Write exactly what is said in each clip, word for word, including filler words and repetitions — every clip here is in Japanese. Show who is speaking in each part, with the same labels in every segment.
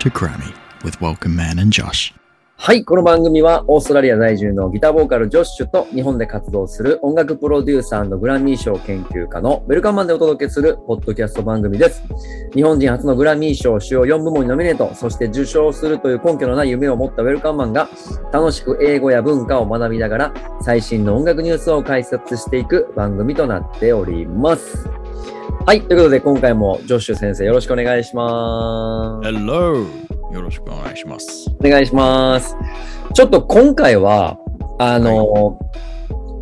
Speaker 1: to Grammy with Welcome Man and Josh.
Speaker 2: はい、この番組はオーストラリア在住のギターボーカルジョッシュと日本で活動する音楽プロデューサー&グラミー賞研究家のウェルカムマンでお届けするポッドキャスト番組です。日本人初のグラミー賞主要よん部門にノミネート、そして受賞するという根拠のない夢を持ったウェルカムマンが楽しく英語や文化を学びながら最新の音楽ニュースを解説していく番組となっております。はい、ということで今回もジョッシュ先生よろしくお願いします。
Speaker 1: Hello! よろしくお願いします。
Speaker 2: お願いします。ちょっと今回はあの、はい、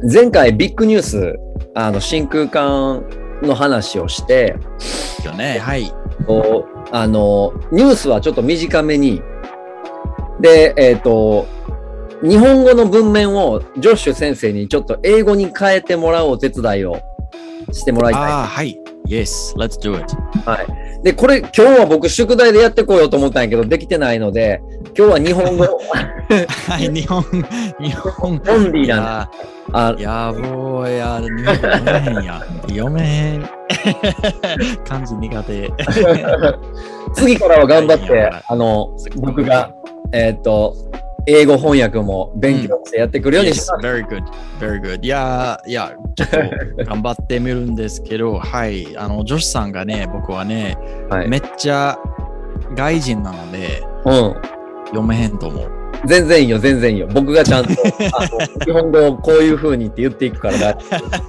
Speaker 2: 前回ビッグニュースあの真空管の話をして
Speaker 1: よね、はい。
Speaker 2: あのニュースはちょっと短めにで、えっと日本語の文面をジョッシュ先生にちょっと英語に変えてもらうお手伝いをしてもらいたい。
Speaker 1: ああ、はい。Yes, let's do it.
Speaker 2: はい。で、これ今日は僕宿題でやってこようと思ったんやけどできてないので、今日は日本語
Speaker 1: はい、日本日本
Speaker 2: オンリーなんで。
Speaker 1: あ、やぼーや、日本語読めへんや。読めへん。漢字苦手。
Speaker 2: 次からは頑張ってあの僕がえっと英語翻訳も勉強してやってくるようにします。
Speaker 1: Yes, very good, very good. いやいや、ちょっと頑張ってみるんですけど、はい、あの、ジョシさんがね、僕はね、はい、めっちゃ外人なので、うん、読めへんと思う。
Speaker 2: 全然いいよ、全然いいよ。僕がちゃんとあの日本語をこういう風にって言っていくからだ。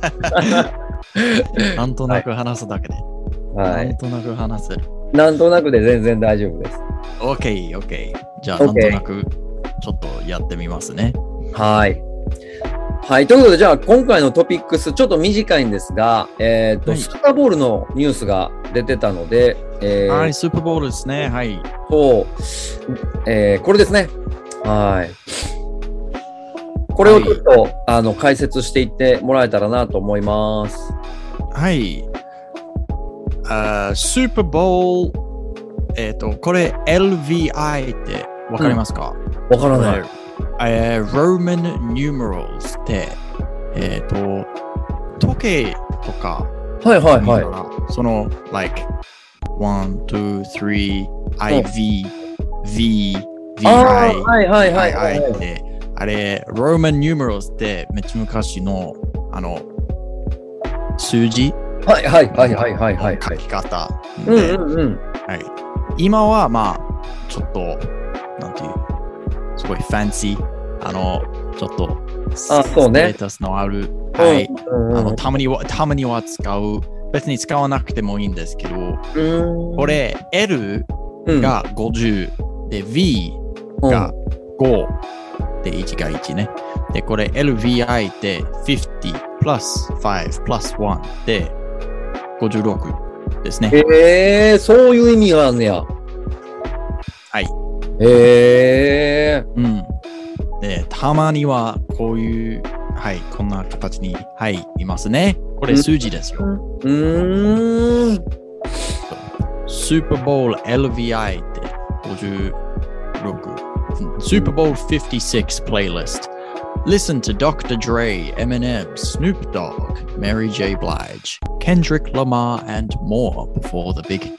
Speaker 1: なんとなく話すだけで。はい、なんとなく話せる。
Speaker 2: なんとなくで全然大丈夫です。
Speaker 1: OK, OK. じゃあ、なんとなく。ちょっとやってみますね。
Speaker 2: はい。はい。ということで、じゃあ今回のトピックス、ちょっと短いんですが、えっと、はい、スーパーボールのニュースが出てたので、
Speaker 1: えー、はい、スーパーボールですね。はい。
Speaker 2: そう、えー、これですね。はい。これをちょっと、はい、あの解説していってもらえたらなと思います。
Speaker 1: はい。あスーパーボール、えっ、ー、と、これ エルブイアイ ってわかりますか？
Speaker 2: わ、うん、からない。
Speaker 1: えー、Roman numerals って、えっ、ー、と、時計とか、
Speaker 2: はいはいは
Speaker 1: い。その、like, one, two, three, I V, V, V, I,
Speaker 2: はいはいはいはい。
Speaker 1: って、あれ、Roman numerals ってめっちゃ昔の、あの、数字
Speaker 2: はいはいはいはいはいはい。
Speaker 1: 書き方
Speaker 2: で、うんうんうん。
Speaker 1: はい。今は、まあ、ちょっと、なんていう、すごいファンシー、あの、ちょっと、
Speaker 2: あ、そうね、
Speaker 1: ステータスのある、はい、うんうん、あのたまには、たまには使う、別に使わなくてもいいんですけど、うんこれ、L がごじゅう、うん、で、V がご、で、いちがいちね。で、これ、エルブイアイ ってごじゅうプラスごプラスいちでごじゅうろくですね。
Speaker 2: えー、そういう意味があるねや。
Speaker 1: はい。
Speaker 2: へえー。
Speaker 1: うん。で、たまにはこういう、はい、こんな形に、はい、いますね。これ数字ですよ。
Speaker 2: うーん。
Speaker 1: スーパーボール エルブイアイ ってごじゅうろく。スーパーボールごじゅうろく playlist. Listen to Doctor Dre, Eminem, Snoop Dogg, Mary J. Blige, Kendrick Lamar, and more before the big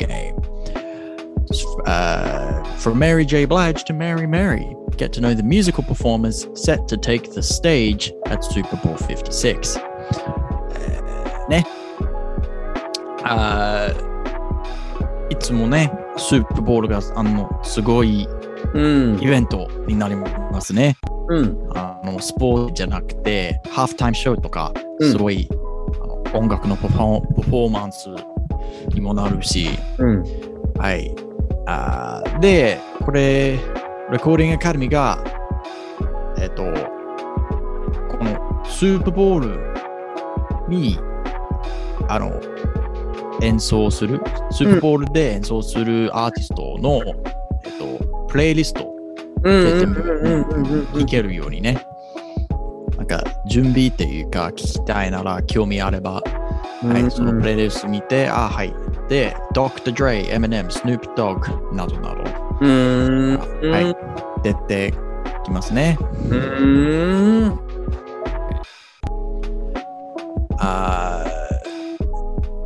Speaker 1: game.Uh, from Mary J. Blige to Mary Mary, get to know the musical performers set to take the stage at Super Bowl フィフティシックス、uh, ね、uh, いつもね、スーパーボールがあのすごいイベントになりますね。うん、あのスポーツじゃなくて、ハーフタイムショーとか、すごい、うん、音楽のパフォーマンスにもなるし、うん、はい。あで、これ、レコーディングアカデミーが、えっと、このスーパーボールに、あの、演奏する、スーパーボールで演奏するアーティストの、うん、えっと、プレイリストで全部聴けるようにね、なんか準備っていうか、聞きたいなら興味あれば、はい、そのプレイリスト見て、あ、はい。で、ドクター Dre、Eminem、Snoop Dogg などなど、う
Speaker 2: ーん
Speaker 1: はい、出てきますね。
Speaker 2: うーん
Speaker 1: あス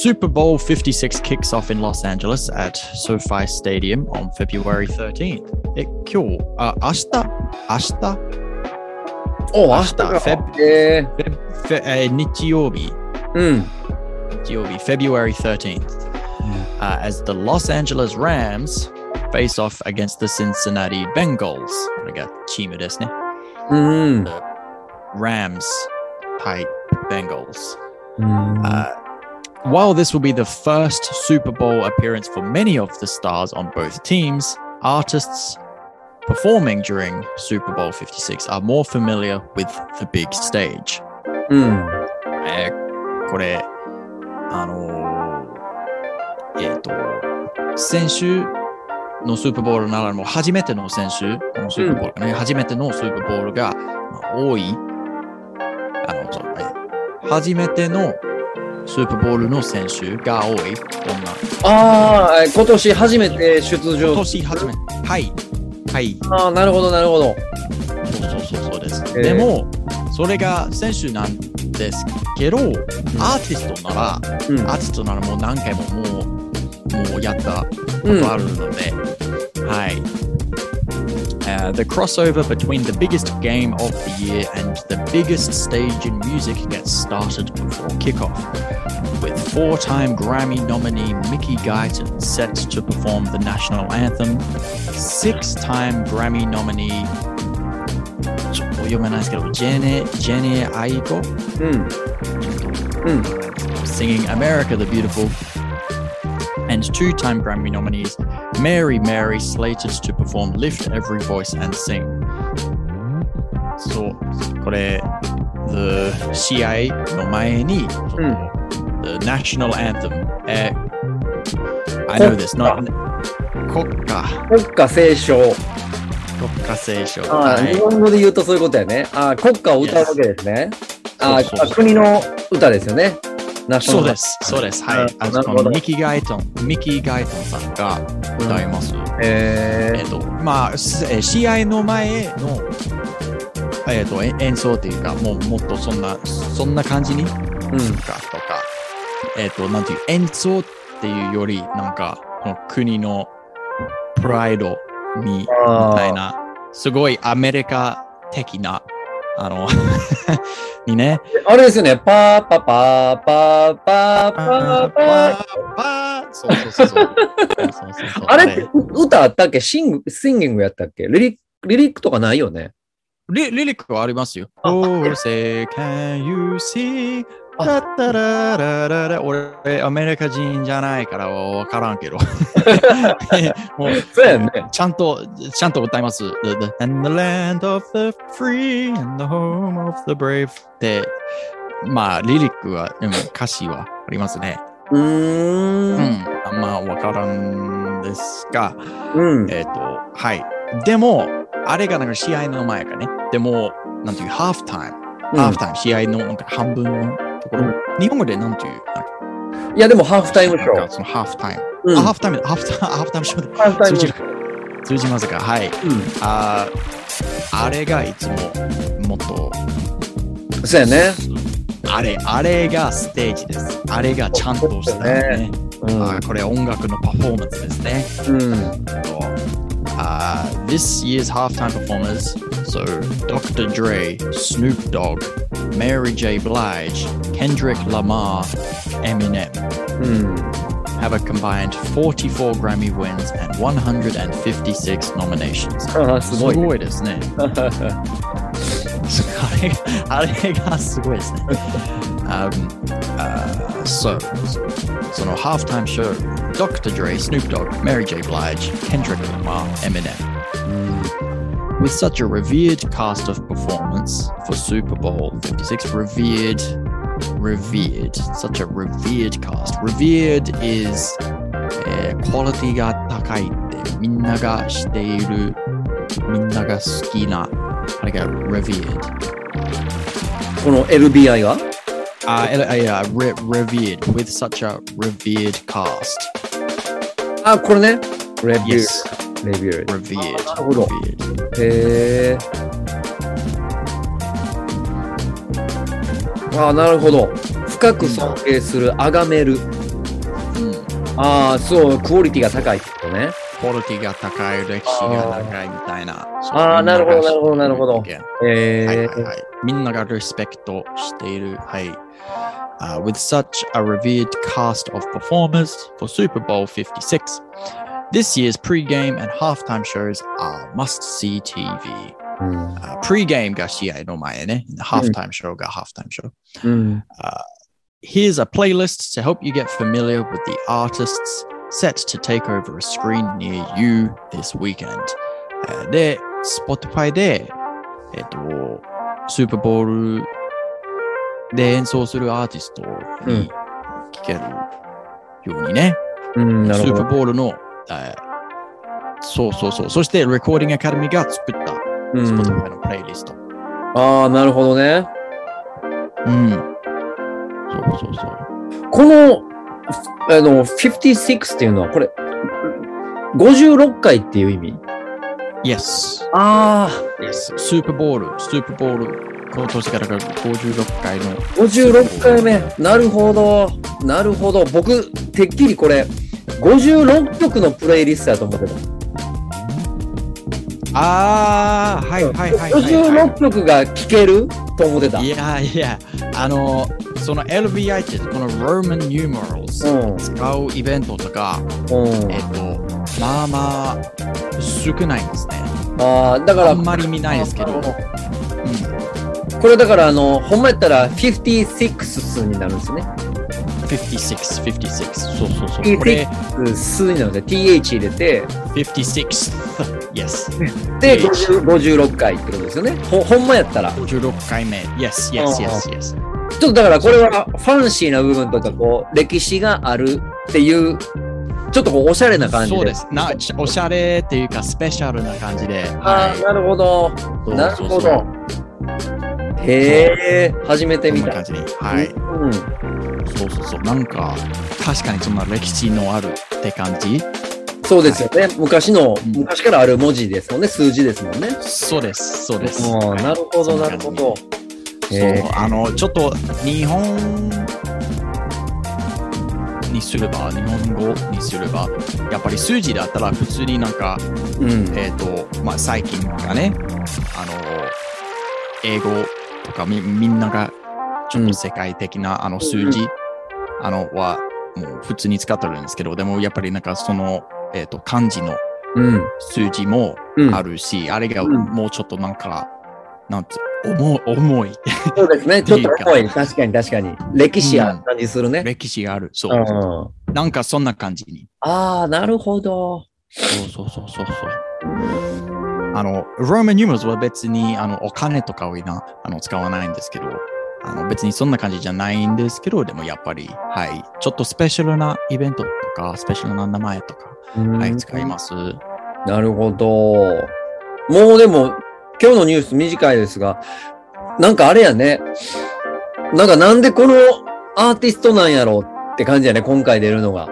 Speaker 1: Super Bowl fifty-six kicks off in Los Angeles at SoFi Stadium on February thirteenth. え、今日、あ、明日、明日、
Speaker 2: お、明日か。
Speaker 1: フェブ、
Speaker 2: えー
Speaker 1: フェブ、フェえー日曜日、
Speaker 2: うん。
Speaker 1: 日曜日、February thirteenth, uh, as the Los Angeles Rams face off against the Cincinnati Bengals. これがチームですね。
Speaker 2: うん。
Speaker 1: Rams 対 Bengals.
Speaker 2: うん。
Speaker 1: Uh, while this will be the first Super Bowl appearance for many of the stars on both teams, artists performing during Super Bowl fifty-six are more familiar with the big stage.
Speaker 2: うん。
Speaker 1: えー、これ、あのー、えっ、ー、と、先週のスーパーボールならもう初めての選手、このスーパーボールがね、うん、初めてのスーパーボールが、まあ、多い、あの、そう、初めてのスーパーボールの選手が多い、こんな。
Speaker 2: ああ、今年初めて出場。
Speaker 1: 今年初めて。はい。はい。
Speaker 2: ああ、なるほど、なるほど。
Speaker 1: そうそうそうそうです。えー、でも、それが選手なんですけど、うん、アーティストなら、うん、アーティストならもう何回ももう、もうやったことあるので、うん、はい。Uh, the crossover between the biggest game of the year and the biggest stage in music gets started before kickoff, with four-time Grammy nominee Mickey Guyton set to perform the national anthem, six-time Grammy nominee ちょっと読めないですけど、ジェネ、ジェネアイコ、うん、うん、singing America the Beautiful, and two-time Grammy nominees Mary Mary slated to perform Lift Every Voice and Sing. そう、これ、the 試合の前に、うん、the national anthem. え、I know this. Not 国歌。
Speaker 2: 国歌斉唱。
Speaker 1: 国歌斉唱。
Speaker 2: あ、はい、日本語で言うとそういうことやね。あ、国歌を歌うわけですね。Yes. あ、そうそうそう、国の歌ですよね。
Speaker 1: そうです、そうです。はい。あのミキ・ガイトン、ミキ・ガイトンさんが歌います。うん、えー、えーと、まあ、試合の前の、えーと、演奏っていうか、もうもっとそんな、そんな感じに、うん、かとか、えっ、ー、と、なんていう、演奏っていうより、なんか、この国のプライドに、みたいな、すごいアメリカ的な、あのにね。
Speaker 2: あれですよね。パーパパーパーパーパーパーパー。
Speaker 1: そうそうそうそう。
Speaker 2: あれって歌あったっけ？シング、シンギングやったっけ？リリック、リリックとかないよね。
Speaker 1: リ, リリックはありますよ。Oh, say, can you see? タタララララ。俺、アメリカ人じゃないからわからんけど。もう
Speaker 2: そうやね。
Speaker 1: ちゃんと、ちゃんと歌います。The, the, and the land of the free and the home of the brave って、まあ、リリックは、でも歌詞はありますね。
Speaker 2: うーん。うん。
Speaker 1: まあ、わからんですが、
Speaker 2: うん、
Speaker 1: えっ、ー、と、はい。でも、あれがなんか試合の前かね。でも、なんていう、ハーフタイム。うん、ハーフタイム、試合のなんか半分のところ。うん、日本語でなんていう。
Speaker 2: いや、でもハーフタイムショー。
Speaker 1: そのハーフタイム。うん、あ、ハーフタイム、ハーフタイム、ハーフタイムショーで。ハーフタイムショー。通じますか？はい。うん、あ, あれがいつももっと。
Speaker 2: そうやね。
Speaker 1: あれ、あれがステージです。あれがちゃんとしたね。うん、あ、これ音楽のパフォーマンスですね。
Speaker 2: うん。
Speaker 1: Uh, this year's halftime performers, so Doctor Dre, Snoop Dogg, Mary J. Blige, Kendrick Lamar, Eminem,
Speaker 2: mm.
Speaker 1: have a combined forty-four Grammy wins and one hundred fifty-six nominations.
Speaker 2: すごい。
Speaker 1: すごいですね。あれ、あれがすごいですね。um, uh, so, so no halftime show, Doctor Dre, Snoop Dogg, Mary J. Blige, Kendrick Lamar, Eminem. Mm. With such a revered cast of performance for Super Bowl fifty-six, revered, revered, such a revered cast. Revered is、えー、quality が高いってみんながしている、みんなが好きなあれが revered。
Speaker 2: この エルビーアイ が
Speaker 1: あ、uh, yeah, re- revered, with such a revered cast.
Speaker 2: あ、これね。revered.
Speaker 1: Yes.
Speaker 2: revered.
Speaker 1: revered.
Speaker 2: なるほど。
Speaker 1: revered.
Speaker 2: へー。あ、なるほど。深く尊敬する、崇める。 ああ、そう、クオリティが高いってことね。
Speaker 1: クオリティが高い、歴史が長いみたいな。
Speaker 2: ああ、なるほど、なるほど、なるほど。
Speaker 1: えーはいはいはい、みんながリスペクトしている。はい。Uh, with such a revered cast of performers for Super Bowl fifty-six, this year's pre-game and halftime shows are must-see ティーブイ. うん uh, pre-game が試合の前ね。halftime show が halftime show. うん uh, here's a playlist to help you get familiar with the artists set to take over a screen near you this weekend. Uh, で、Spotify で、えっと、スーパーボールで演奏するアーティストに聴けるようにね、うん、スーパーボールの、えー、そうそうそう、そしてレコーディングアカデミーが作った Spotify のプレイリスト。
Speaker 2: うん、ああ、なるほどね。
Speaker 1: うん。そうそうそう。
Speaker 2: この、あの、ごじゅうろくっていうのは、これ、ごじゅうろっかいっていう意味？
Speaker 1: Yes.
Speaker 2: ああ。
Speaker 1: Yes. スーパーボール、スーパーボール。今年からがごじゅうろっかいの
Speaker 2: ごじゅうろっかいめ。なるほどなるほど。僕てっきりこれごじゅうろっきょくのプレイリストだと思ってた。
Speaker 1: ああ、はいはいはい、はい、
Speaker 2: ごじゅうろっきょくが聴けると思ってた。
Speaker 1: いやいや、あのその エルブイアイ ってこの Roman numerals、うん、使うイベントとか、うん、えっとまあまあ少ないんですね。
Speaker 2: ああ、だから
Speaker 1: あんまり見ないですけど。
Speaker 2: これだからあのほんまやったらごじゅうろく数になるんですね。
Speaker 1: ごじゅうろく、ごじゅうろく、そうそうそう。
Speaker 2: これ数になるので ティーエイチ 入れて
Speaker 1: ごじゅうろく yes
Speaker 2: でごじゅうろっかいってことですよね。ほ, ほんまやったら
Speaker 1: ごじゅうろっかいめ yes yes yes yes。
Speaker 2: ちょっとだからこれはファンシーな部分とかこう歴史があるっていうちょっとこうおしゃれな感じで。
Speaker 1: そうですな。おしゃれっていうかスペシャルな感じで。
Speaker 2: ああ、はい、なるほどなるほど。へえ、初めて見た。
Speaker 1: こんな感じに。はい。うん。そうそうそう。なんか、確かにそんな歴史のあるって感じ。
Speaker 2: そうですよね。はい、昔の、うん、昔からある文字ですもんね。数字ですもんね。
Speaker 1: そうです、そうです。
Speaker 2: はい、なるほど、なるほど。
Speaker 1: そう、あの、ちょっと日本にすれば、日本語にすれば、やっぱり数字だったら普通になんか、うん、えっと、まあ、最近がね、あの、英語、とか み, みんながちょっと世界的な、うん、あの数字、うん、あのはもう普通に使ってるんですけど、でもやっぱりなんかその、えー、と漢字の数字もあるし、うん、あれがもうちょっとなんか、うん、なんて重い重い。
Speaker 2: そうですね、ちょっと重い。確かに確かに歴史ある感じするね。
Speaker 1: うん、歴史がある。そう、うん、なんかそんな感じに。
Speaker 2: ああ、なるほど。
Speaker 1: そうそうそうそうそう。あの、Roman numerals は別にあのお金とかをなあの使わないんですけど、あの別にそんな感じじゃないんですけど、でもやっぱり、はい、ちょっとスペシャルなイベントとか、スペシャルな名前とか、はい、使います。
Speaker 2: なるほど。もうでも、今日のニュース短いですが、なんかあれやね、なんかなんでこのアーティストなんやろうって感じやね、今回出るのが。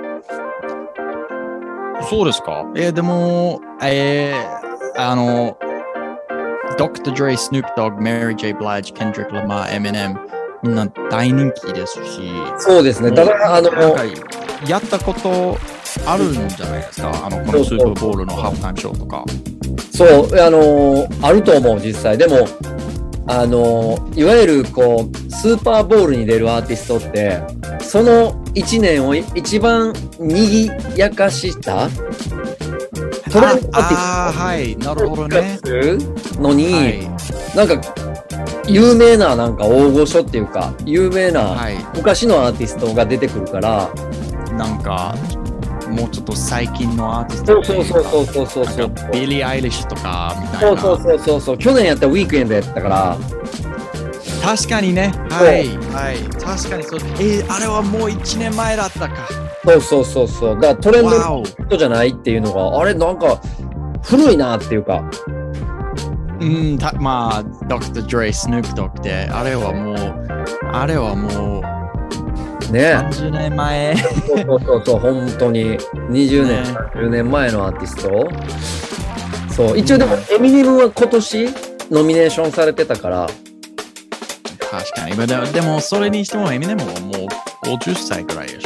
Speaker 1: そうですか。えー、でも、えーあの、ドクター Dre、Snoop Dogg、Mary J. Blige、Kendrick Lamar、Eminem みんな大人気ですし。
Speaker 2: そうですね。ただあの
Speaker 1: やったことあるんじゃないですか。あのこのスーパーボールのハーフタイムショーとか。
Speaker 2: そうあのあると思う実際。でもあのいわゆるこうスーパーボールに出るアーティストってそのいちねんを一番にぎやかした
Speaker 1: トレンドアーティストああはいなるほどね
Speaker 2: のに、はい、なんか有名ななんか大御所っていうか有名な昔のアーティストが出てくるから、
Speaker 1: はい、なんかもうちょっと最近のアーティスト
Speaker 2: そうそうそうそうそうそう
Speaker 1: ビリー・アイリッシュとかみたいな
Speaker 2: そうそうそうそう去年やったウィークエンドやったから
Speaker 1: 確かにねはいはい確かにそうえー、あれはもういちねんまえだったか
Speaker 2: そうそうそうそうだからトレンドの人じゃないっていうのがあれなんか古いなっていうか
Speaker 1: うんたまあドクター・ドレイ・スヌープ・ドッグってあれはもうあれはもう
Speaker 2: ね
Speaker 1: さんじゅうねんまえ
Speaker 2: そうそうそうそう本当ににじゅうねん、ね、さんじゅうねんまえのアーティストそう一応でもエミネムは今年ノミネーションされてたから
Speaker 1: 確かにでもそれにしてもエミネムはもうごじゅっさいくらいでしょ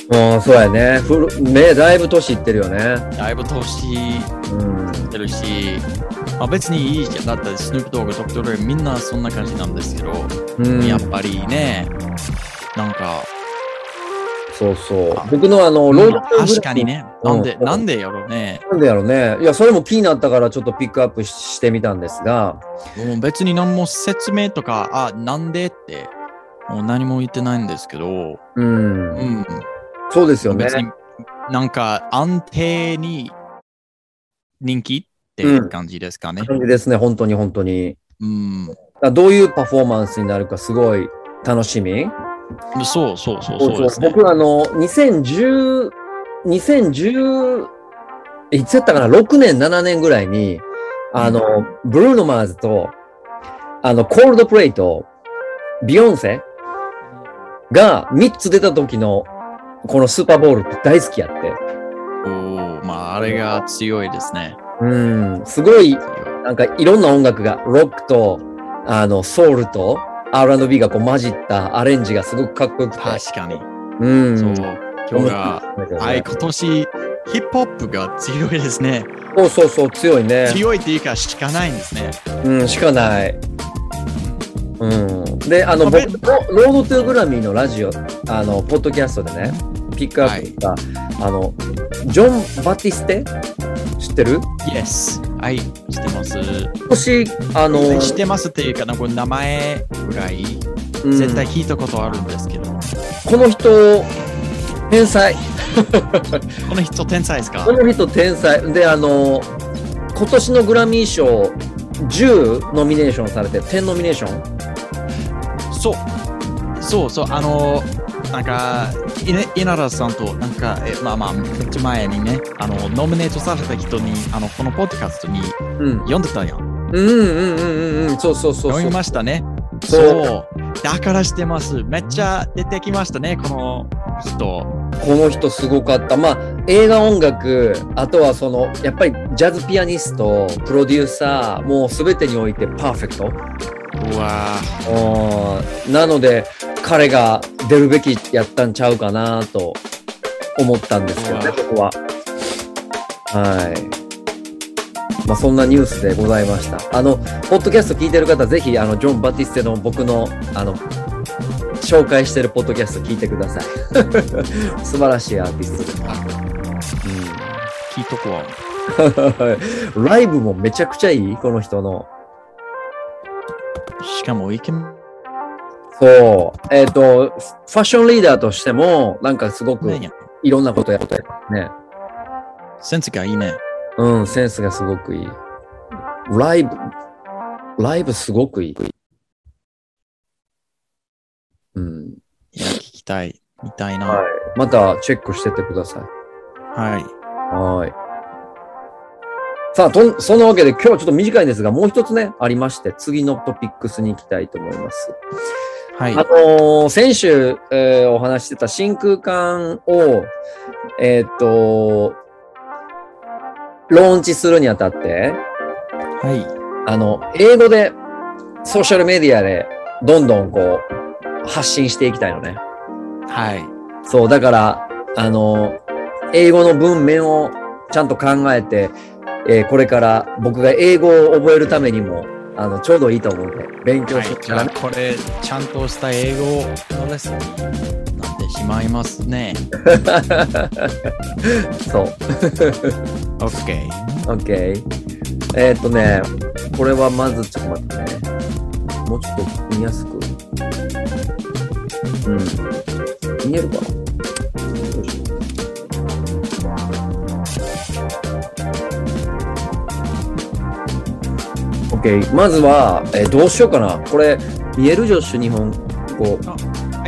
Speaker 2: ああ、そうやね。ふるね、だいぶ年いってるよね。
Speaker 1: だいぶ年いってるし、うん、まあ、別にいいじゃん。だってスヌープドッグ、ドクター・ドレイみんなそんな感じなんですけど、うん、やっぱりね、なんか、
Speaker 2: そうそう。僕のあの、ロード
Speaker 1: 確かにね。なんで、うん、なんでやろうね。
Speaker 2: なんでやろうね。いや、それも気になったからちょっとピックアップしてみたんですが。
Speaker 1: もう別に何も説明とか、あ、なんでって、もう何も言ってないんですけど。
Speaker 2: うん。うん。そうですよね。
Speaker 1: 別になんか安定に人気っていう感じですかね。
Speaker 2: うん、感じですね、本当に本当に。
Speaker 1: うん。
Speaker 2: どういうパフォーマンスになるかすごい楽しみ。
Speaker 1: そうそうそうそうです
Speaker 2: ね。僕あのにせんじゅう、にせんじゅういつやったかな、ろくねんななねんぐらいにあの、うん、ブルーノマーズとあのコールドプレイとビヨンセがみっつ出た時のこのスーパーボールって大好きやって。
Speaker 1: おお、まああれが強いですね。
Speaker 2: うん、すごいなんかいろんな音楽がロックとあのソウルとアールアンドビー がこう混じったアレンジがすごくかっこよくて。
Speaker 1: 確かに。
Speaker 2: うん。
Speaker 1: そう。今日が、はい、今年ヒップホップが強いですね。
Speaker 2: そうそうそう、強いね。
Speaker 1: 強いっていうかしかないんですね。
Speaker 2: うん、しかない。うん。で、あの、僕、ロードトゥーグラミーのラジオ、あの、ポッドキャストでね、ピックアップした、はい、あの、ジョン・バティステ知ってる？
Speaker 1: Yes。はい、知ってます。
Speaker 2: もし、あの、
Speaker 1: 知ってますっていうか、なんか名前ぐらい、うん、絶対聞いたことあるんですけど。
Speaker 2: この人、天才。
Speaker 1: この人、天才ですか？
Speaker 2: この人、天才。で、あの、今年のグラミー賞、じゅうノミネーションされて、じゅうノミネーション？
Speaker 1: そう。そうそう、あの、なんか、稲田さんと、なんか、えまあまあ、めっちゃ前にね、あの、ノミネートされた人に、あの、このポッドキャストに、読んでたやん。
Speaker 2: うんうんうんうんうん、そうそうそう。
Speaker 1: 読みましたね。そう。そうだからしてます。めっちゃ出てきましたね、この人。
Speaker 2: この人すごかった。まあ、映画音楽、あとはその、やっぱりジャズピアニスト、プロデューサー、もうすべてにおいてパーフェクト。
Speaker 1: うわ
Speaker 2: ー。なので、彼が出るべきやったんちゃうかなと思ったんですよね、ここは。はい。まあ、そんなニュースでございました。あの、ポッドキャスト聞いてる方、ぜひ、あの、ジョン・バティステの僕の、あの、紹介してるポッドキャスト聞いてください。素晴らしいアーティストです。うん、
Speaker 1: 聞いとこ
Speaker 2: わ。ライブもめちゃくちゃいい、この人の。
Speaker 1: しかも、イケメン。
Speaker 2: そう。えっと、ファッションリーダーとしても、なんかすごくいろんなことやってるね。
Speaker 1: センスがいいね。
Speaker 2: うん、センスがすごくいい。ライブ、ライブすごくいい。うん。
Speaker 1: いや、聞きたい。見たいな。
Speaker 2: はい。またチェックしててください。
Speaker 1: はい。
Speaker 2: はい。さあ、と、そんなわけで今日はちょっと短いんですが、もう一つね、ありまして、次のトピックスに行きたいと思います。はい。あのー、先週、えー、お話してた真空管を、えー、っと、ローンチするにあたって、
Speaker 1: はい。
Speaker 2: あの、英語で、ソーシャルメディアで、どんどんこう、発信していきたいのね。
Speaker 1: はい。
Speaker 2: そう、だから、あの、英語の文面をちゃんと考えて、えー、これから僕が英語を覚えるためにも、あの、ちょうどいいと思うんで、勉強して、
Speaker 1: はい、じゃあ、これ、ちゃんとした英語のレッスンになってしまいますね。
Speaker 2: そう。
Speaker 1: OK。
Speaker 2: OK。えー、っとね、これはまず、ちょっと待ってね。もうちょっと見やすく。うん。見えるかな？よいしょ。OK。まずは、えー、どうしようかな。これ、見えるジョッシュ日本語。
Speaker 1: はい、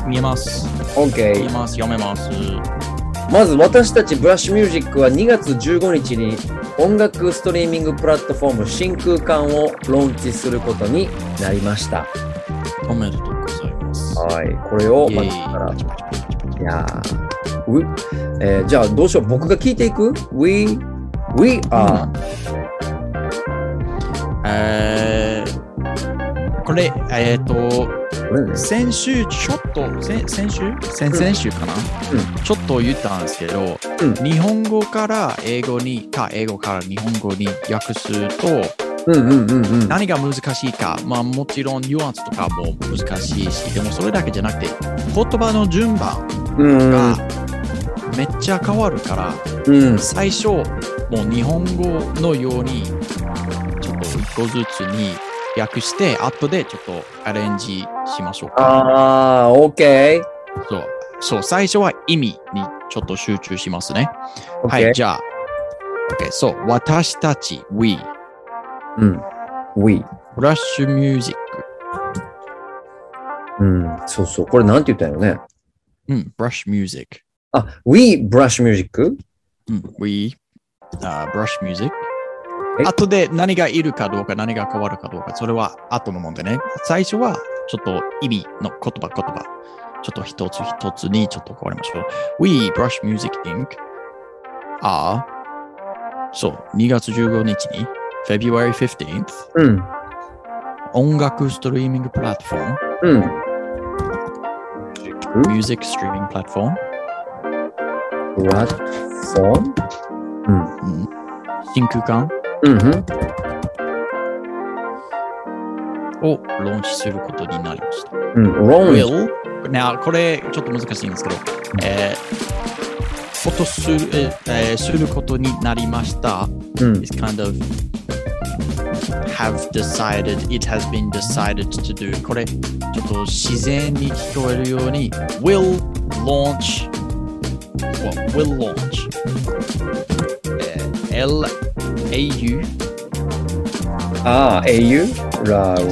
Speaker 1: 見えます。
Speaker 2: OK。
Speaker 1: 見えます。読めます。
Speaker 2: まず私たちブラッシュミュージックはにがつじゅうごにちに音楽ストリーミングプラットフォーム真空管をローンチすることになりました。
Speaker 1: おめでとうございます。
Speaker 2: はい、これをまずからいやー、えー、じゃあどうしよう、僕が聞いていく ?We, we are、うん、
Speaker 1: えー、これ、えっ、ー、と、 先週ちょっと、先先週先々週かな、うん、ちょっと言ったんですけど、うん、日本語から英語に、か英語から日本語に訳すと、うんうんうんうん、何が難しいか、まあもちろんニュアンスとかも難しいし、でもそれだけじゃなくて、言葉の順番がめっちゃ変わるから、うん、最初、もう日本語のように、ちょっと一個ずつに訳して、後でちょっとアレンジしましょうか。
Speaker 2: ああ、OK。
Speaker 1: そう、そう、最初は意味にちょっと集中しますね。Okay. はい、じゃあ、OK、そう、私たち、we。
Speaker 2: うん。we。
Speaker 1: ブラッシュミュージッ
Speaker 2: ク。うん、そうそう。これなんて言ったんよね。
Speaker 1: うん、ブラッシュミュージック。
Speaker 2: あ、we brush music？
Speaker 1: うん、we、uh, brush music。後で何がいるかどうか、何が変わるかどうか、それは後のもんでね。最初はちょっと意味の言葉、言葉。ちょっと一つ一つにちょっと変わりましょう。We brush music inc are そう、にがつじゅうごにちに February fifteenth、うん、音楽ストリーミングプラットフォーム、うん、Music Streaming Platform
Speaker 2: プラットフォーム、
Speaker 1: うんうん、新空間、
Speaker 2: うん、
Speaker 1: をローンチすることになりました。
Speaker 2: うん、
Speaker 1: will Now これちょっと難しいんですけど、えー、ことする、えー、することになりました。うん、It's kind of have decided, it has been decided to do これちょっと自然に聞こえるように will launch well, will launch、えー、L A U
Speaker 2: ああ A U ラウ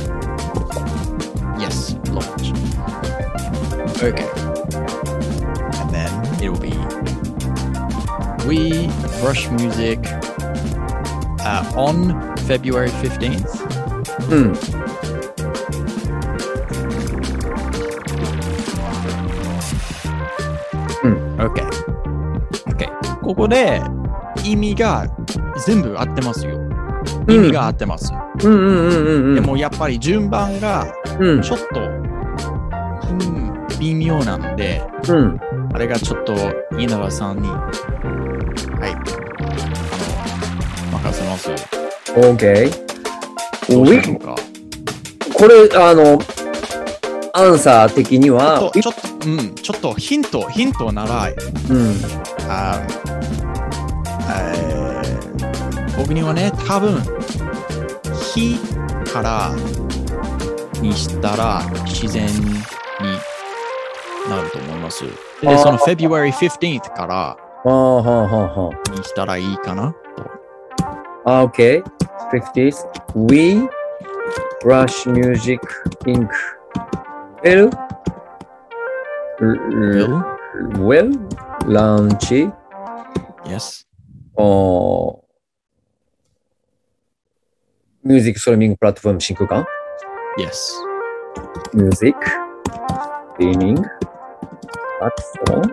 Speaker 1: Yes, launch Okay and then it will be We Brush Music uh, on February fifteenth
Speaker 2: うん、うん、
Speaker 1: OK OK ここで意味が全部合ってますよ、うん、意味が合ってます、
Speaker 2: うんうんうんうんうん、
Speaker 1: でもやっぱり順番がちょっと、うんうん、微妙なんで、うん、あれがちょっと稲葉さんにはいあの任せます。
Speaker 2: OK
Speaker 1: どうしましょうか。
Speaker 2: これあのアンサー的には
Speaker 1: ちょっとちょっと、うん、ちょっとヒントヒントなら、うん、あえー、僕にはね多分日からにしたら自然になると思います。でその February fifteenth からにしたらいいかなと。
Speaker 2: あ、OK。fiftieth We Brush Music Inc Will
Speaker 1: Will
Speaker 2: Will Launch
Speaker 1: Yes
Speaker 2: Oh Music Streaming Platform 新空間
Speaker 1: Yes
Speaker 2: Music Streaming Platform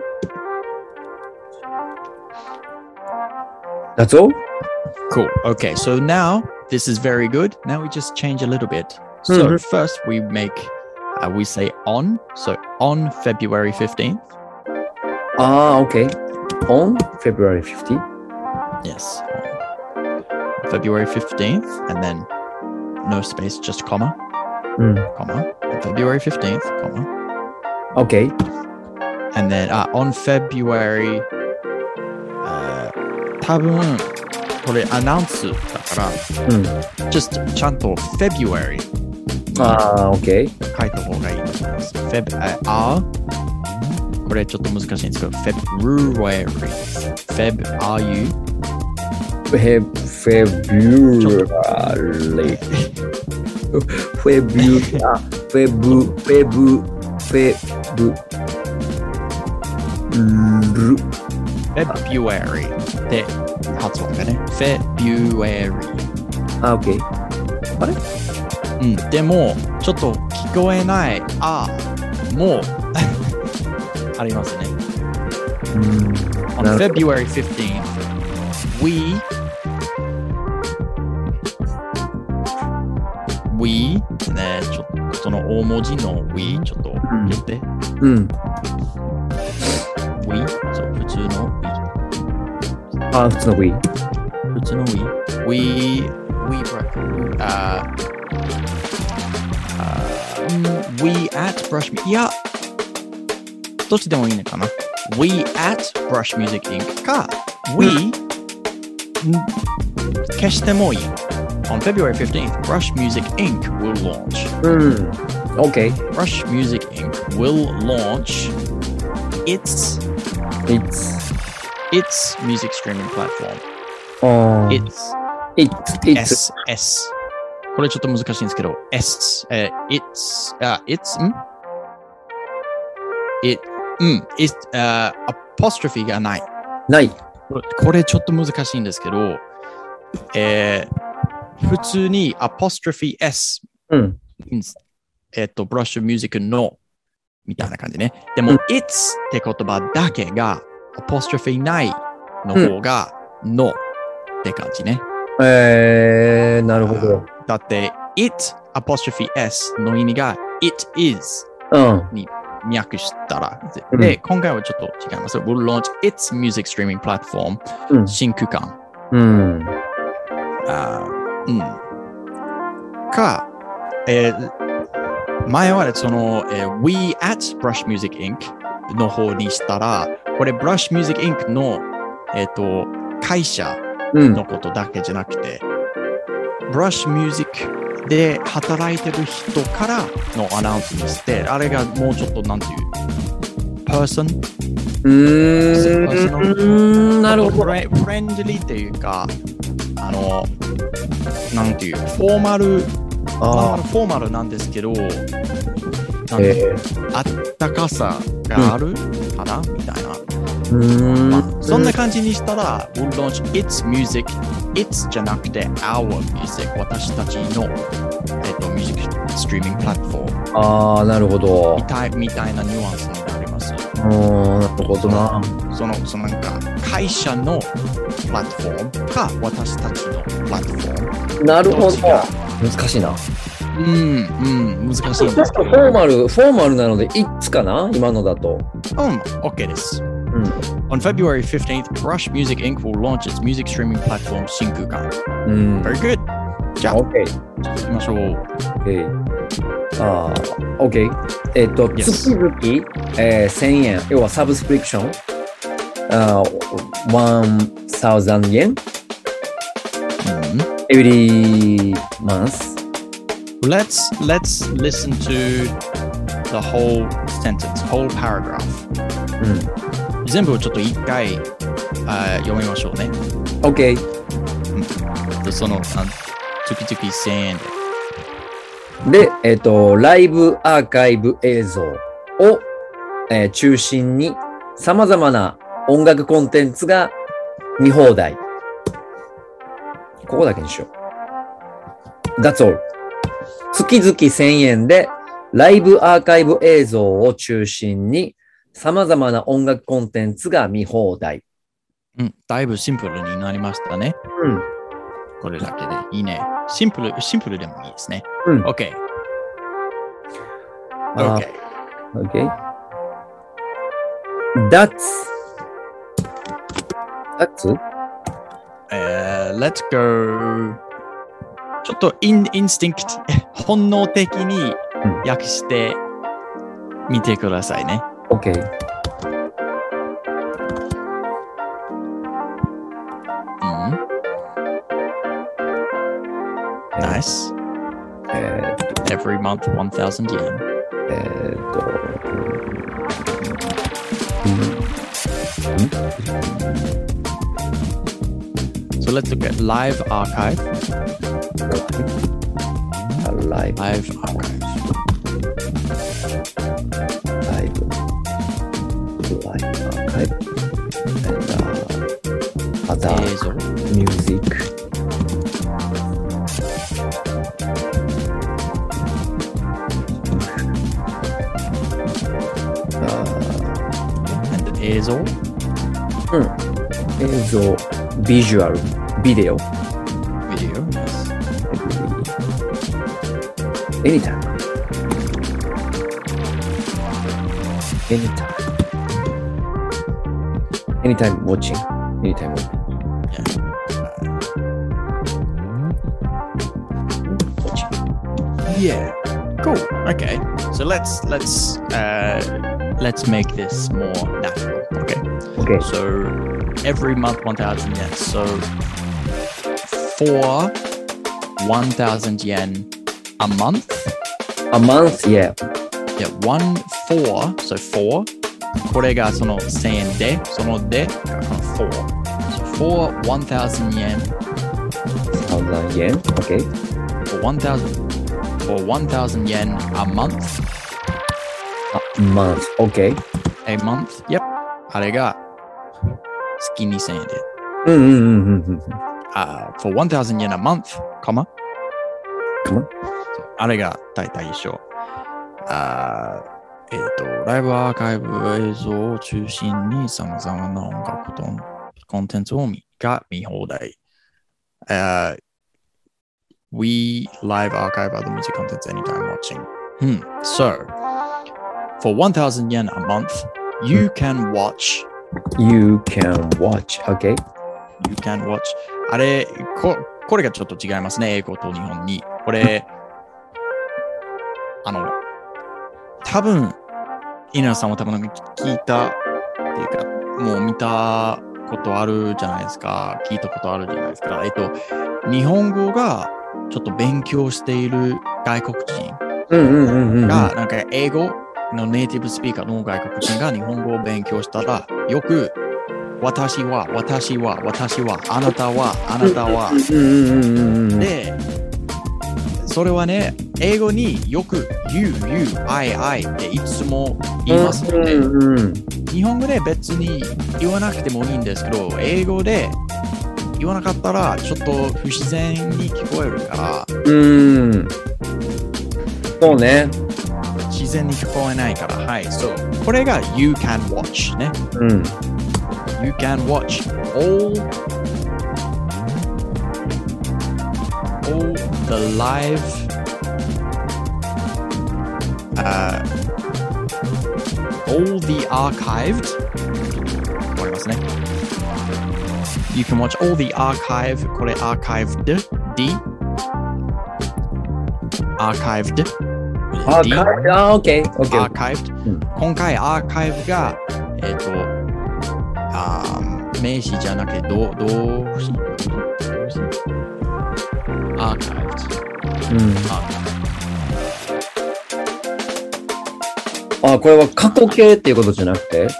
Speaker 2: That's all?
Speaker 1: Cool. Okay, so now this is very good. Now we just change a little bit. So mm-hmm. first we make, uh, we say on. So on February fifteenth.
Speaker 2: Ah, okay. On February fifteenth.
Speaker 1: Yes. On February fifteenth, and then no space, just comma, mm. comma. February fifteenth, comma.
Speaker 2: Okay.
Speaker 1: And then uh, on February, uh, 多分これアナウンスだから、うん、just ちゃんと February
Speaker 2: ああ、OK
Speaker 1: 書いた方がいいと思います。Feb、あこれちょっと難しいんですけど February Feb are you
Speaker 2: Feb February February Feb Feb Feb
Speaker 1: February で発音がね February
Speaker 2: あ、OK あれ
Speaker 1: うん、でもちょっと聞こえないあもうありますね。うん On February fifteenth We We ね、ちょっとその大文字の We ちょっと入れて。
Speaker 2: うん。
Speaker 1: We そう、普通の We。
Speaker 2: あ、普通の We。
Speaker 1: 普通の We。We, we, uh, uh, we at brush, いや、どっちでもいいのかな。We at Brush Music インク か、We、うん、消してもいい。On February fifteenth, Brush Music インク will launch.
Speaker 2: うん。OK.
Speaker 1: Brush Music インク will launch its
Speaker 2: its
Speaker 1: its music streaming platform.
Speaker 2: Oh.
Speaker 1: Its
Speaker 2: its
Speaker 1: its S S これちょっと難しいんですけど S、えー、its あ、uh, its ん it うん it、uh, apostrophe がない
Speaker 2: ない
Speaker 1: これちょっと難しいんですけど、えー、普通に apostrophe S、
Speaker 2: うん、
Speaker 1: えっ、ー、と brush music のみたいな感じね。でも、うん、it's って言葉だけが apostrophe ないの方が、うん、のって感じね。
Speaker 2: えー、なるほど。
Speaker 1: だって、it apostrophe S の意味が it is、うん、に訳したら。で、うん、今回はちょっと違います。We'll launch its music streaming platform、うん、新空間。
Speaker 2: うん。
Speaker 1: あうん。か、えー、前はその、えー、We at Brush Music インク の方にしたら、これ Brush Music インク の、えー、と会社のことだけじゃなくて、うん、Brush Music で働いてる人からのアナウンスにして、あれがもうちょっとなんていう、person?
Speaker 2: うーん、なるほど。
Speaker 1: フレンドリーっていうか、あの、なんていう、フォーマル、あフォーマルなんですけど、なんていう、えー、あったかさがある、うん、かなみたいな。
Speaker 2: うーん、
Speaker 1: まあ、そんな感じにしたら、We'll launch its music, its じゃなくて our music、私たちの、えっと、ミュージックストリーミングプラットフォーム。
Speaker 2: ああ、なるほど。
Speaker 1: みたい、みたいなニュアンスになります。
Speaker 2: ああ、なるほどな。
Speaker 1: その、そのなんか、会社のプラットフォームか、私たちのプラットフォーム。
Speaker 2: なるほど。難しいな。
Speaker 1: うん、うん、難しいんですけど。
Speaker 2: フォーマル、フォーマルなので、it's かな今のだと。
Speaker 1: うん、OK です。うん、On February fifteenth, Brush Music インク will launch its music streaming platform 新空間。
Speaker 2: うん。
Speaker 1: Very good. じゃあ、
Speaker 2: OK。
Speaker 1: 行きましょう。
Speaker 2: OK。ああ、OK。えっと、
Speaker 1: Yes.
Speaker 2: 月々、えー、せんえん、要はサブスクリプション、あー、せんえん、うん、every month.Let's
Speaker 1: let's listen to the whole sentence, whole paragraph. うん、全部をちょっと一回あ読みましょうね。
Speaker 2: OK。
Speaker 1: うん、その月々せんえんで。
Speaker 2: で、えっと、ライブアーカイブ映像を、えー、中心に様々な音楽コンテンツが見放題。ここだけにしよう。That's all.月々せんえんでライブアーカイブ映像を中心に様々な音楽コンテンツが見放題。
Speaker 1: うん、だいぶシンプルになりましたね。
Speaker 2: うん。
Speaker 1: これだけでいいね。シンプル、シンプルでもいいですね。
Speaker 2: うん。
Speaker 1: OK。
Speaker 2: OK。OK。That's That's?
Speaker 1: Uh, let's go.ちょっとイン、インスティンクト、本能的に訳してみてくださいね。
Speaker 2: OK。
Speaker 1: うん。Nice.
Speaker 2: えー、
Speaker 1: Every month one thousand yen.
Speaker 2: えーと。うん。
Speaker 1: So let's look at live archive.Live, live archive.
Speaker 2: Live, live archive. And uh, other music.
Speaker 1: Uh, and 映像?
Speaker 2: うん。映像、ビジュアル、ビデオ。
Speaker 1: ビデオ、yes.
Speaker 2: anytime. Anytime. Anytime watching. Anytime watching.
Speaker 1: Yeah. Cool. Okay. So let's let's uh, let's make this more natural. Okay.
Speaker 2: Okay.
Speaker 1: So every month one thousand yen. So for one thousand yen a month.
Speaker 2: A month, yeah.
Speaker 1: Yeah. One four. So four. これがその千円で、そのでがこの four. So for one thousand yen.
Speaker 2: one thousand yen. Okay.
Speaker 1: For one thousand. For one thousand yen a month.
Speaker 2: A month. Okay.
Speaker 1: A month. Yep. あれが月にせんえんで。
Speaker 2: うんうんうんうん。
Speaker 1: Uh, for one thousand yen a month, かま
Speaker 2: Come on.
Speaker 1: あれが大体一緒。Uh, えっと、ライブアーカイブ映像を中心に様々な音楽とコンテンツを見が見放題。Uh, we live archive other music contents anytime watching. Hmm. So, for one thousand yen a month, you can watch.
Speaker 2: You can watch. Okay.
Speaker 1: You can watch. あれ、こ、これがちょっと違いますね。英語と日本に。これ、あの、多分、稲田さんは多分聞いたっていうか、もう見たことあるじゃないですか。聞いたことあるじゃないですか。えっと、日本語がちょっと勉強している外国人が、なんか英語のネイティブスピーカーの外国人が日本語を勉強したら、よく、私は、私は、私は、あなたは、あなたは。で、それはね、英語によく you, you, I, I っていつも言いますので、日本語で別に言わなくてもいいんですけど、英語で言わなかったらちょっと不自然に聞こえるから、
Speaker 2: うん。そうね。
Speaker 1: 自然に聞こえないから、はい、そう。これが you can watch ね。
Speaker 2: うん。
Speaker 1: You can watch all all the live uh, all the archived わかりますね。You can watch all the archive これ archived D archived
Speaker 2: archived あ、OK OK
Speaker 1: archived、うん、今回アーカイブがえっ、ー、とあ名詞じゃなくて動詞アーカイブ、うん、
Speaker 2: あ、これは過去形っていうことじゃなくて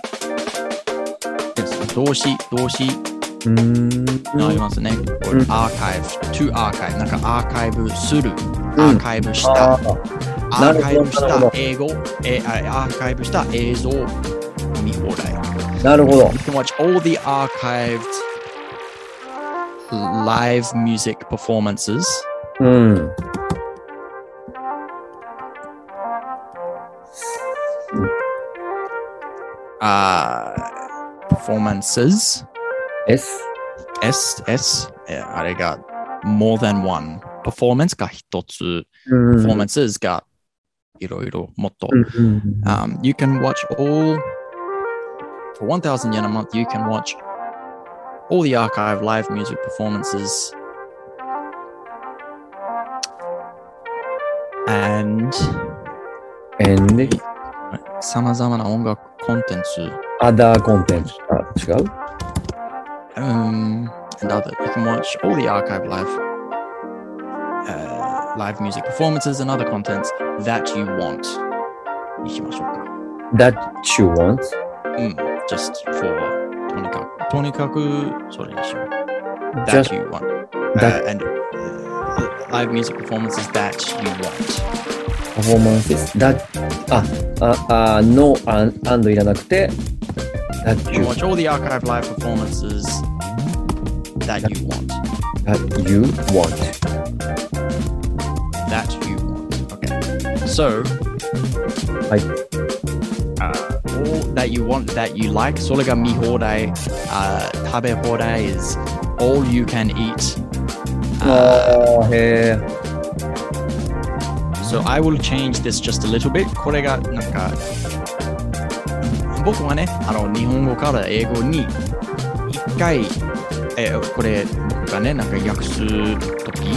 Speaker 1: 動詞動詞
Speaker 2: うーん
Speaker 1: ありますね。これ、うん、アーカイブ to アーカイブなんかアーカイブする、うん、アーカイブしたアーカイブした英語えアーカイブした映像見放題。
Speaker 2: なるほど。You
Speaker 1: can watch all the archived live music performances.
Speaker 2: うん。
Speaker 1: あ、uh, performances.
Speaker 2: S?
Speaker 1: S, S. あれが more than one. performance が一つ。
Speaker 2: うん、
Speaker 1: performances がいろいろもっと。うん、um, you can watch all For one thousand yen a month, you can watch all the archive live music performances and
Speaker 2: and
Speaker 1: 様々な音楽コンテンツ
Speaker 2: other content あ、違う
Speaker 1: Um, and other. You can watch all the archive live uh, live music performances and other contents that you want. にしましょうか。
Speaker 2: That you want?
Speaker 1: うん。Just for とにかく、とにかくそれにしよう。
Speaker 2: Just
Speaker 1: that you want. Uh, and uh, live music performances that you want.
Speaker 2: Performances that あ、あ、あ、no and, and いらなくて that
Speaker 1: you,
Speaker 2: you
Speaker 1: watch all the archive live performances that, that you want.
Speaker 2: That you want.
Speaker 1: That you want. Okay. So,
Speaker 2: はい。
Speaker 1: Uh, all that you want, that you like. それが見放題、uh, 食べ放題 is all you can eat.
Speaker 2: あー、へー。
Speaker 1: So I will change this just a little bit. これがなんか僕はね、あの日本語から英語に一回、えー、これ僕がね、なんか訳すとき、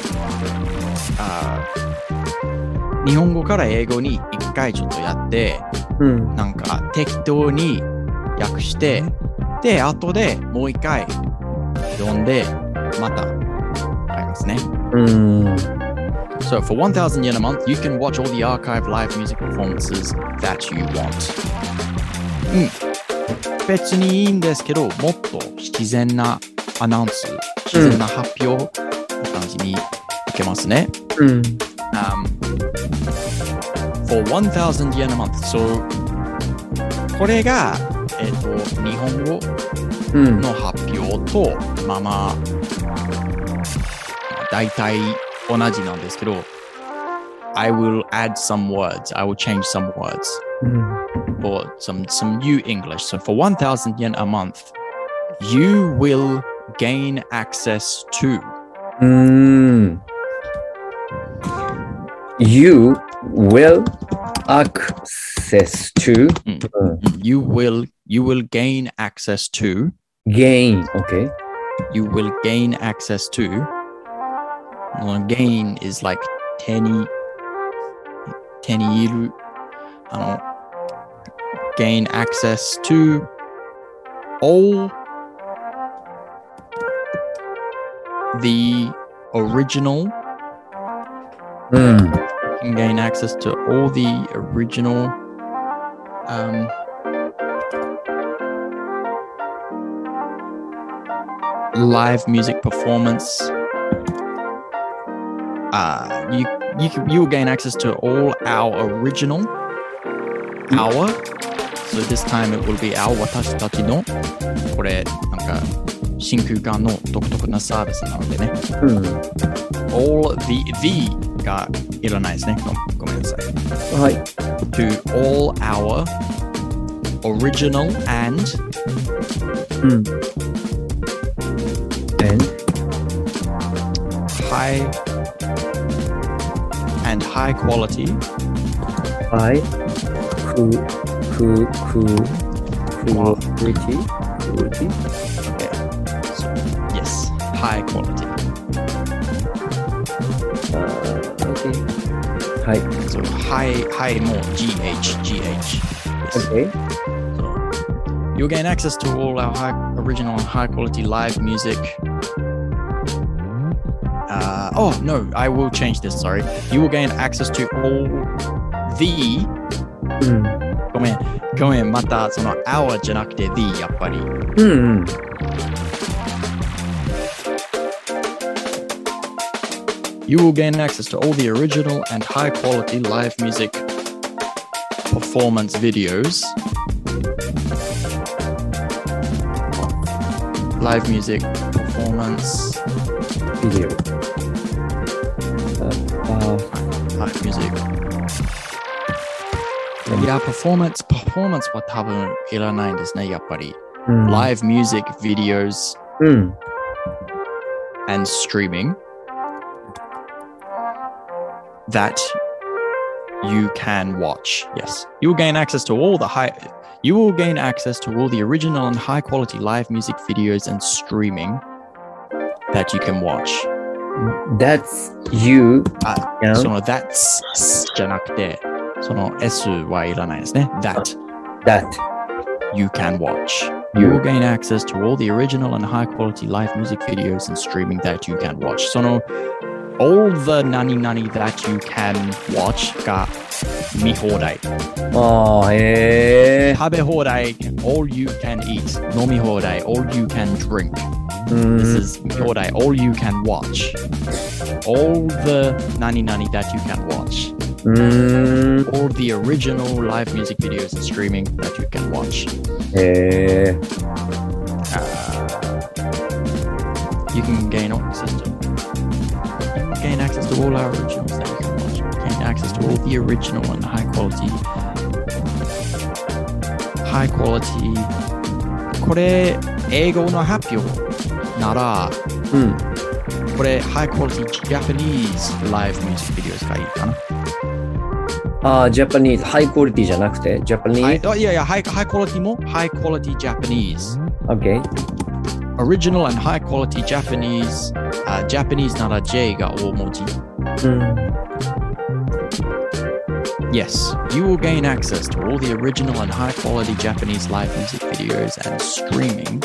Speaker 1: あ日本語から英語に一回ちょっとやって、うん、なんか適当に訳して、で、後でもう一回読んで、またありますね。うん。So for one thousand yen a month, you can watch all the archive live music performances that you want. うん。別にいいんですけど、もっと自然なアナウンス、自然な発表の感じにいけますね。うん。Um, for one thousand yen a month. So これが、えっと、日本語の発表と、うん、まあまあ、大体同じなんですけど、I will add some words. I will change some words. Mm. Or some, some new English. So for one thousand yen a month, you will gain access to.
Speaker 2: Mm. You will access to.
Speaker 1: Mm. Mm. You will, you will gain access to.
Speaker 2: Gain, okay.
Speaker 1: You will gain access to. Well, gain is like 手に手にいるあの gain access to all the original
Speaker 2: mm.
Speaker 1: you can gain access to all the original um live music performance. Uh, you you can, you will gain access to all our original our. So this time it will be our 私たちのこれなんか真空管の独特なサービスなのでね。うん、all the the がいらないですね。ごめんなさい。
Speaker 2: はい。
Speaker 1: To all our original and
Speaker 2: うん。and
Speaker 1: high and high quality.
Speaker 2: High, cool, cool, cool, quality, quality.
Speaker 1: Okay. So, yes, high quality.
Speaker 2: Uh, okay. High.
Speaker 1: So high, high more G H, G H. Yes.
Speaker 2: Okay.
Speaker 1: So you'll gain access to all our high, original and high quality live music. Uh, oh no, I will change this. Sorry, you will gain access to all the.
Speaker 2: うん、
Speaker 1: ごめん、ごめん、またその our じゃなくて the やっぱり。
Speaker 2: うんうん。
Speaker 1: You will gain access to all the original and high quality live music performance videos. Live music performance
Speaker 2: video. Uh,
Speaker 1: live music. いや、performance、performance は多分いらないんですね、やっぱり。うん、live music videos、
Speaker 2: うん、
Speaker 1: and streaming that you can watch. Yes. You will gain access to all the high you will gain access to all the original and high quality live music videos and streaming that you can watch.
Speaker 2: That's you.
Speaker 1: あ、その that's じゃなくて、その S はいらないですね。That.
Speaker 2: That.
Speaker 1: You can watch. You will gain access to all the original and high quality live music videos and streaming that you can watch. その all the 何々 that you can watch が見放題。
Speaker 2: ああ、へえ。
Speaker 1: 食べ放題 all you can eat。飲み放題 all you can drink。This is 見放題 all you can watch。all the 何々 that you can watch。all the original live music videos and streaming that you can watch。
Speaker 2: へえ。
Speaker 1: You can gain access to gain access to all our originals that you can watch. Gain access to all the original and high quality. High quality. これ英語の発表なら、
Speaker 2: うん、
Speaker 1: これ high quality Japanese live music videos がいいかな。
Speaker 2: ああ、ジャパニーズ、ハイクオリティじゃなくて、ジャパニーズ。
Speaker 1: いやいや、ハイクオリティも、ハイクオリティジャパニーズ。
Speaker 2: OK。
Speaker 1: Original and high quality Japanese、uh, Japanese なら J が大文字。うん。Yes, you will gain access to all the original and high quality Japanese live music videos and streaming.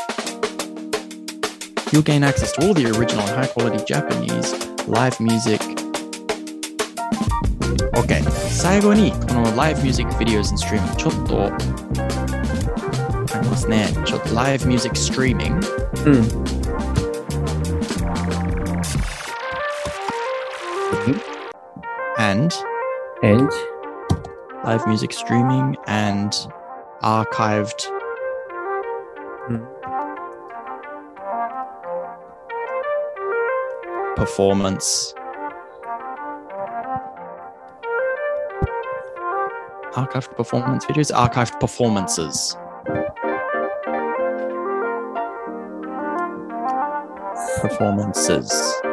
Speaker 1: You'll gain access to all the original and high quality Japanese live music.OK、最後にこの live music videos and streaming ちょっとありますね。ちょっと live music streaming。うん。and
Speaker 2: and
Speaker 1: live music streaming and archived、うん、performance。Archived performance videos, archived performances. Performances.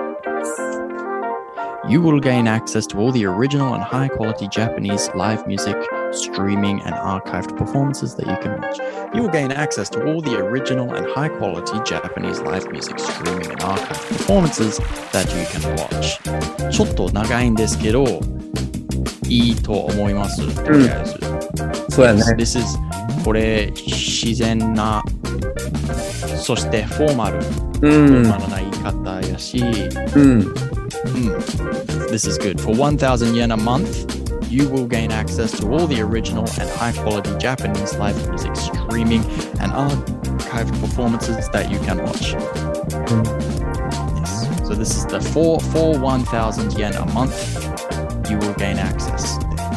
Speaker 1: You will gain access to all the original and high quality Japanese live music, streaming, and archived performances that you can watch. You will gain access to all the original and high quality Japanese live music, streaming, and archived performances that you can watch. ちょっと長いんですけど、いいと思います。とりあえず。
Speaker 2: うん、そうやね。
Speaker 1: This is これ自然な、そしてフォーマル、うん、フォーマルな言い方やし、うん、うん。This is good. For one thousand yen a month, you will gain access to all the original and high quality Japanese live music streaming and archived performances that you can watch. Mm. Yes. So this is the for for one thousand yen a month, you will gain access.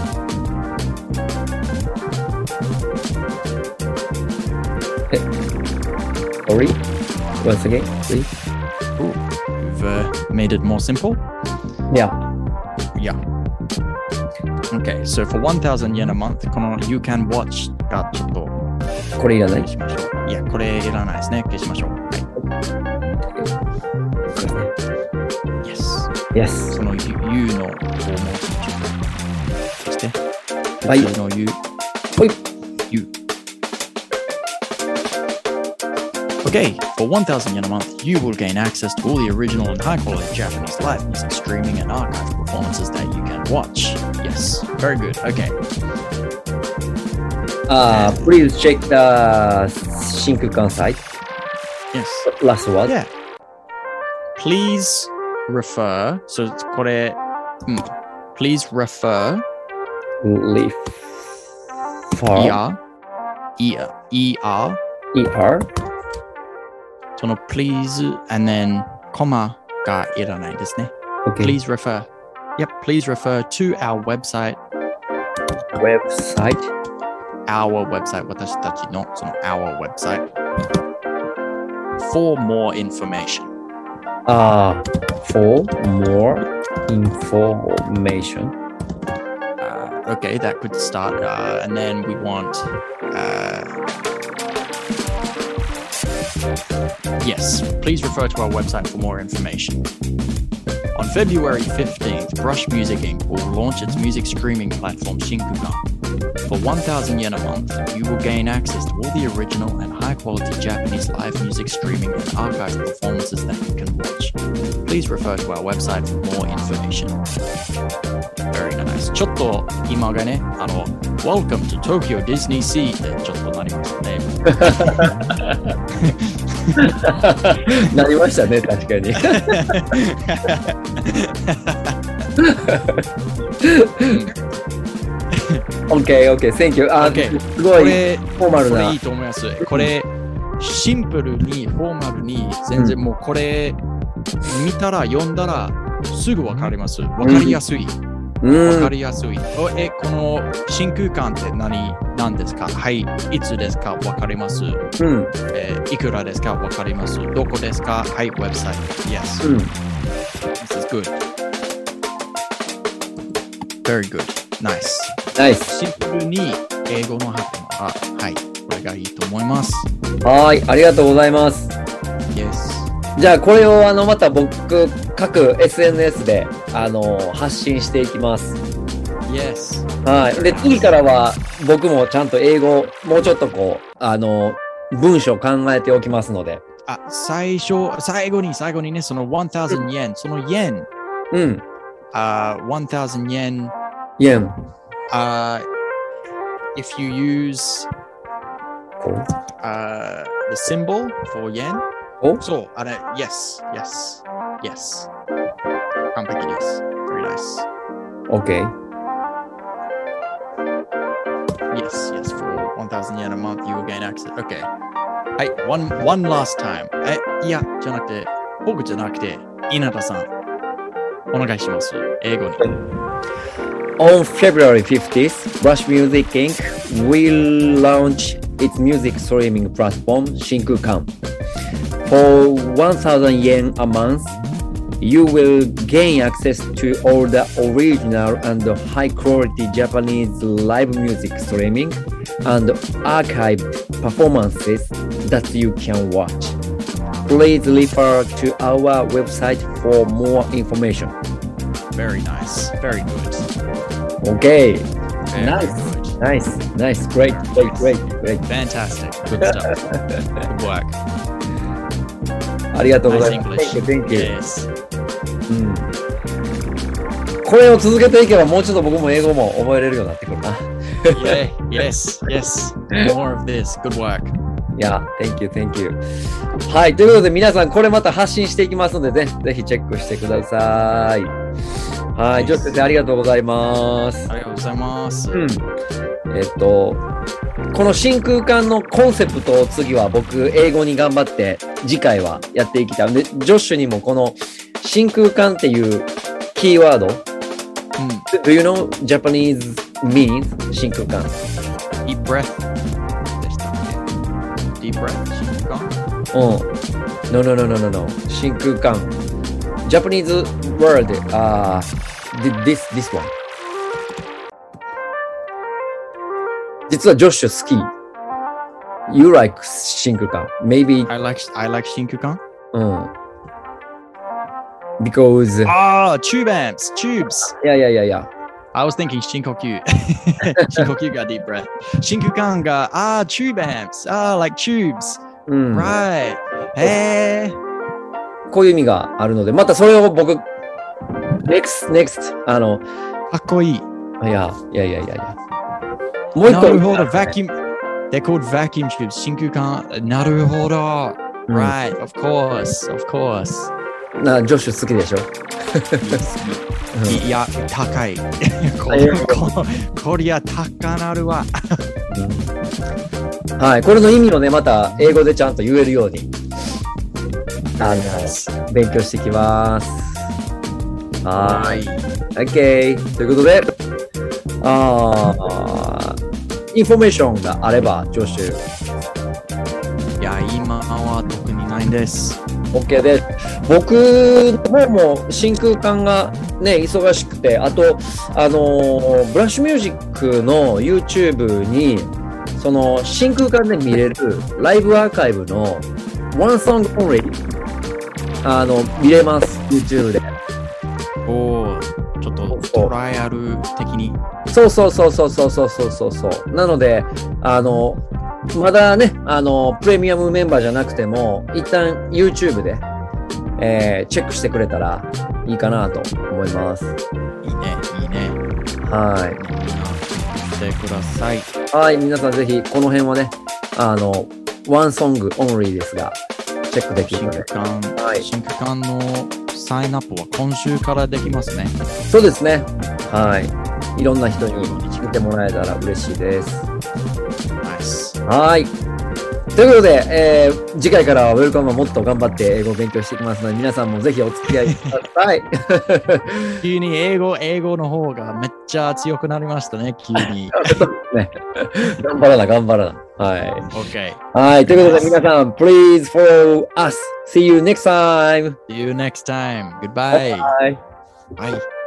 Speaker 2: Sorry, once again, please.
Speaker 1: Ooh, we've uh, made it more simple.
Speaker 2: Yeah.
Speaker 1: Yeah. Okay, so for one thousand yen a month, この You Can Watch がちょっと
Speaker 2: これいらない
Speaker 1: しましょう。いや、これいらないですね。消しましょう。はい。Yes.
Speaker 2: Yes.
Speaker 1: その You の方もちょっとして。
Speaker 2: はい。
Speaker 1: その You。
Speaker 2: はい。
Speaker 1: You. Okay, for one thousand yen a month, you will gain access to all the original and high-quality Japanese live music streaming and archive performances that you can watch. Yes, very good. Okay.
Speaker 2: Uh, please check the Shinkukan site.
Speaker 1: Yes.
Speaker 2: Last word.
Speaker 1: Yeah. Please refer. So, これ、うん、please refer.
Speaker 2: Refer.
Speaker 1: Er. Er. Er.
Speaker 2: Er.
Speaker 1: その please and then comma がいらないですね。
Speaker 2: Okay.
Speaker 1: Please refer. Yep, please refer to our website.
Speaker 2: Website?
Speaker 1: Our website. 私たちのその our website. For more information.
Speaker 2: Ah, uh, for more information.
Speaker 1: Uh, okay, that could start. Uh, and then we want... Uh, Yes, please refer to our website for more information. On February fifteenth, Brush Music Incorporated will launch its music streaming platform Shinkukan. For one thousand yen a month, you will gain access to all the original and high-quality Japanese live music streaming and archive performances that you can watch. Please refer to our website for more information. Very nice. ちょっと今がね、あの、Welcome to Tokyo Disney Sea ってちょっとなりましたね。
Speaker 2: なりましたね、確かに。OK, OK, thank you. あ、
Speaker 1: okay.
Speaker 2: すごいフォーマルな。
Speaker 1: これいいと思います。これ、シンプルに、フォーマルに、全然もうこれ、見たら、読んだら、すぐわかります。わかりやすい。わかりやすい。え、この真空管って何、何ですか？はい、いつですか？わかります。うん。えー、いくらですか？わかります。どこですか？はい、ウェブサイト。Yes. うん。This is good. Very good. Nice.
Speaker 2: Nice.
Speaker 1: シンプルに英語の発音が、はい、これがいいと思います。
Speaker 2: はい、ありがとうございます。
Speaker 1: Yes.
Speaker 2: じゃあこれをあのまた僕各 エスエヌエス であの発信していきます。
Speaker 1: Yes.
Speaker 2: はい。で、次からは僕もちゃんと英語、もうちょっとこう、あの、文章考えておきますので。
Speaker 1: あ、最初、最後に、最後にね、そのone thousand yen、その yen。
Speaker 2: うん。
Speaker 1: あ、uh, one thousand yen。
Speaker 2: yen。
Speaker 1: Uh, if you use uh, the symbol for yen.
Speaker 2: お
Speaker 1: そう、あれ、yes, yes, yes. 完璧です。Very nice.
Speaker 2: Okay.
Speaker 1: Yes, yes, for one thousand yen a month, you will gain access. Okay. はい、one, one last time. え、いや、じゃなくて、僕じゃなくて、稲田さん、お願いします。英語に。
Speaker 2: On February fifteenth, Rush Music Incorporated will launch its music streaming platform, Shinkukan. For one thousand yen a month, you will gain access to all the original and high-quality Japanese live music streaming and archived performances that you can watch. Please refer to our website for more information.
Speaker 1: Very nice. Very good.
Speaker 2: Okay.
Speaker 1: Very
Speaker 2: nice.
Speaker 1: Good.
Speaker 2: Nice. Nice. Great. Great. Great. Great.
Speaker 1: Fantastic. Good stuff. Good work.
Speaker 2: ありがとうござい
Speaker 1: Nice
Speaker 2: ます。
Speaker 1: English.
Speaker 2: Thank you. Thank you.
Speaker 1: Yes.
Speaker 2: うん。これを続けていけばもうちょっと僕も英語も覚えれるようになってくるな。
Speaker 1: Yeah. Yes. Yes. More of this. Good work.
Speaker 2: いや、Thank you. Thank you. はい。ということで皆さんこれまた発信していきますのでね、ぜひチェックしてください。はい。ジョシ先生ありがとうございます。
Speaker 1: ありがとうございます。
Speaker 2: うん。えっと、この真空管のコンセプトを次は僕英語に頑張って次回はやっていきたい。で、ジョッシュにもこの真空管っていうキーワード、うん、Do you know Japanese means 真空管
Speaker 1: Deep breath でしたっけ Deep breath 真空管
Speaker 2: うん。No, no, no, no, no, no. 真空管 Japanese word, uh, this, this one. 実はジョッシュ好き。You like 真空管 Maybe.
Speaker 1: I like, I like 真空管
Speaker 2: うん。Because.
Speaker 1: Ah, tube amps, tubes.
Speaker 2: いやいやいやいや。
Speaker 1: I was thinking 深呼吸。深呼吸が deep breath。真空管が、ああ、tube amps. ああ、like tubes.
Speaker 2: うん。
Speaker 1: Right. へえ。
Speaker 2: こういう意味があるので、またそれを僕、next, next, あの、
Speaker 1: かっこいい。
Speaker 2: いや、いやいやいやいや。もう一個。
Speaker 1: なるほど、vacuum. They're called vacuum tubes. 真空管。なるほど。
Speaker 2: うん、
Speaker 1: Right, of course, of course.
Speaker 2: な、ジョッシュ好きでしょ
Speaker 1: いや、高い。こここりゃ高なるわ、
Speaker 2: うん。はい、これの意味をね、また英語でちゃんと言えるように、あの、勉強していきます。はい。OK。ということで、あー、インフォメーションがあれば、ジョッシュ。
Speaker 1: いや、今は特にないんです。
Speaker 2: OK です。僕の方も真空管がね、忙しくて、あと、あのー、ブラッシュミュージックの YouTube に、その真空管で見れるライブアーカイブの One Song Only、あの、見れます、YouTube で。
Speaker 1: おー、ちょっとトライアル的に。
Speaker 2: そうそうそうそうそうそうそうそう。なので、あの、まだね、あの、プレミアムメンバーじゃなくても、一旦 YouTube で、えー、チェックしてくれたらいいかなと思います。
Speaker 1: いいね、いいね。
Speaker 2: はい。
Speaker 1: してください。
Speaker 2: はい、皆さんぜひ、この辺はね、あの、ワンソングオンリーですが、チェックできるので。
Speaker 1: 真空管、はい、真空管のサインアップは今週からできますね。
Speaker 2: そうですね。はい。いろんな人に見てもらえたら嬉しいです。
Speaker 1: ナイス。
Speaker 2: はい。ということで、えー、次回からはウェルカムはもっと頑張って英語を勉強していきますので、皆さんもぜひお付き合いください。
Speaker 1: 急に英語、英語の方がめっちゃ強くなりましたね、急に。
Speaker 2: ね、頑張らな、頑張らな。はい。
Speaker 1: OK。
Speaker 2: はい。ということで、皆さん、please follow us. See you next time.
Speaker 1: See you next time. Goodbye.
Speaker 2: Bye.
Speaker 1: Bye.